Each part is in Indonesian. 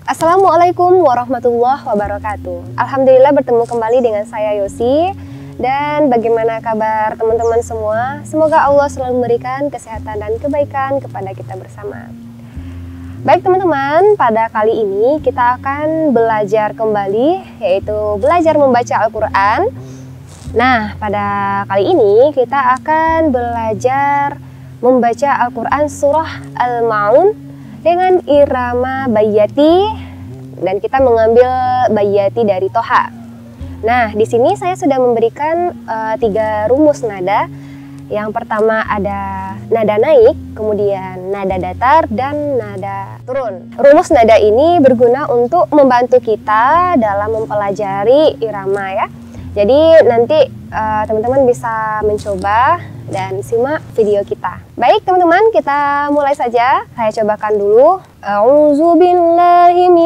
Assalamualaikum warahmatullahi wabarakatuh. Alhamdulillah bertemu kembali dengan saya Yosi. Dan bagaimana kabar teman-teman semua? Semoga Allah selalu memberikan kesehatan dan kebaikan kepada kita bersama. Baik teman-teman, pada kali ini kita akan belajar kembali, yaitu belajar membaca Al-Quran. Nah, pada kali ini kita akan belajar membaca Al-Quran surah Al-Ma'un dengan irama bayyati, dan kita mengambil bayyati dari Toha. Nah, di sini saya sudah memberikan 3 rumus nada. Yang pertama ada nada naik, kemudian nada datar, dan nada turun. Rumus nada ini berguna untuk membantu kita dalam mempelajari irama ya. Jadi nanti teman-teman bisa mencoba dan simak video kita. Baik teman-teman, kita mulai saja. Saya cobakan dulu. A'udzubillahi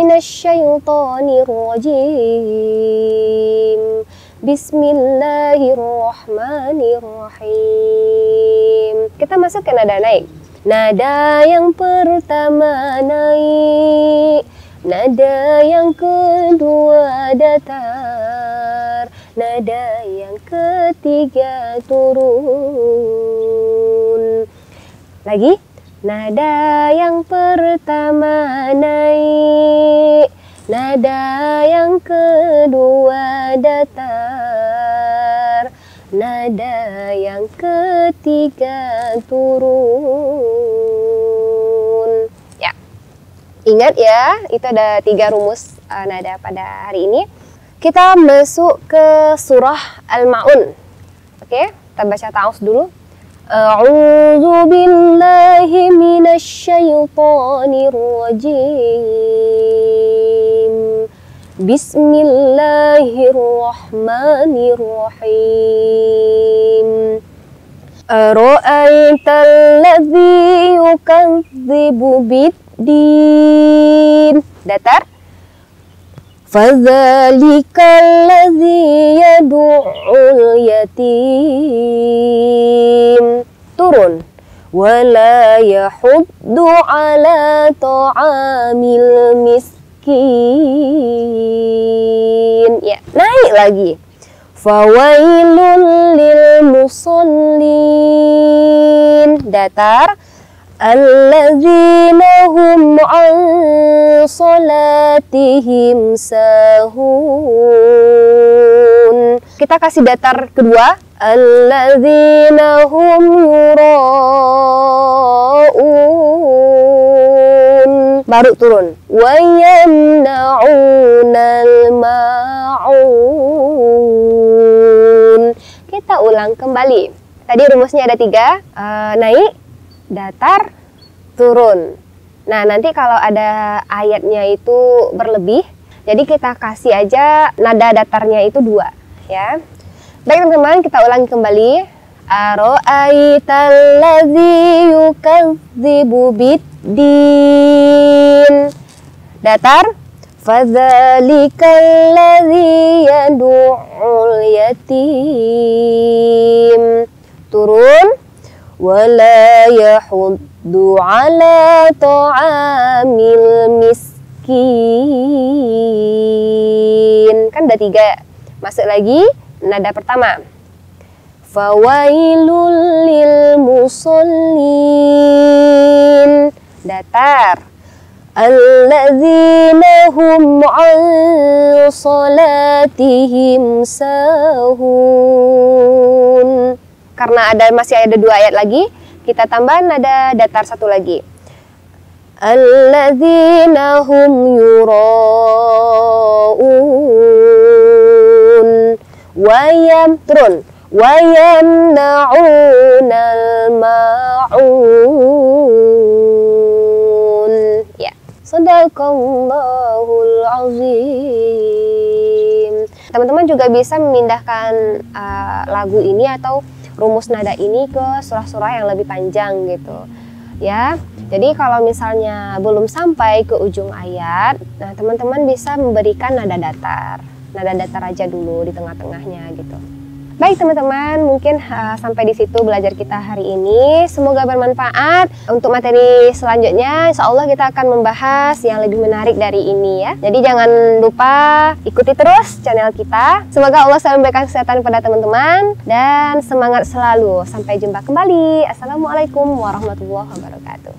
minasyaitonirrajim. Bismillahirrahmanirrahim. Kita masuk ke nada naik. Nada yang pertama naik, nada yang kedua datar, nada yang ketiga turun. Lagi, nada yang pertama naik, nada yang kedua datar, nada yang ketiga turun. Ya, ingat ya, itu ada 3 rumus nada pada hari ini. Kita masuk ke surah Al-Ma'un. Oke, kita baca ta'awuz dulu. A'udzu billahi minasyaitonir rajim. Bismillahirrahmanirrahim. Ara'aital ladzi yukadzibu bid-din. Datar. Fadzalikal ladzi yad'ul yatim. Turun. Wala yahuddu ala ta'amil miskin. Ya, naik lagi. Fawailul lil musallin. Datar. Alladzina hum an salatihim sahun. Kita kasih datar kedua. Alladzina hum yura'un. Baru turun. Wa yamna'unal ma'un. Kita ulang kembali. Tadi rumusnya ada 3. Naik, datar, turun. Nah, nanti kalau ada ayatnya itu berlebih, jadi kita kasih aja nada datarnya itu 2 ya. Baik teman-teman, kita ulangi kembali. Ara'aital ladzi yukadzibu bid-din. Datar. Fadzalikal ladzi yad'ul yatim. Turun. Wala yahuddu ala ta'amil miskin. Kan ada 3. Masuk lagi nada pertama. Fawailul lil musallin. Datar. Alladzina hum an salatihim sahun. Karena masih ada 2 ayat lagi, kita tambah nada datar 1 lagi. Alladzina hum yura'un. Wayam turun. Wayamna'unal ma'un. Ya. Shadaqallahul azim. Teman-teman juga bisa memindahkan lagu ini atau rumus nada ini ke surah-surah yang lebih panjang gitu ya. Jadi kalau misalnya belum sampai ke ujung ayat, nah teman-teman bisa memberikan nada datar aja dulu di tengah-tengahnya gitu. Baik teman-teman, mungkin sampai di situ belajar kita hari ini. Semoga bermanfaat. Untuk materi selanjutnya, insya Allah kita akan membahas yang lebih menarik dari ini ya. Jadi jangan lupa ikuti terus channel kita. Semoga Allah selalu memberikan kesehatan pada teman-teman dan semangat selalu. Sampai jumpa kembali. Assalamualaikum warahmatullahi wabarakatuh.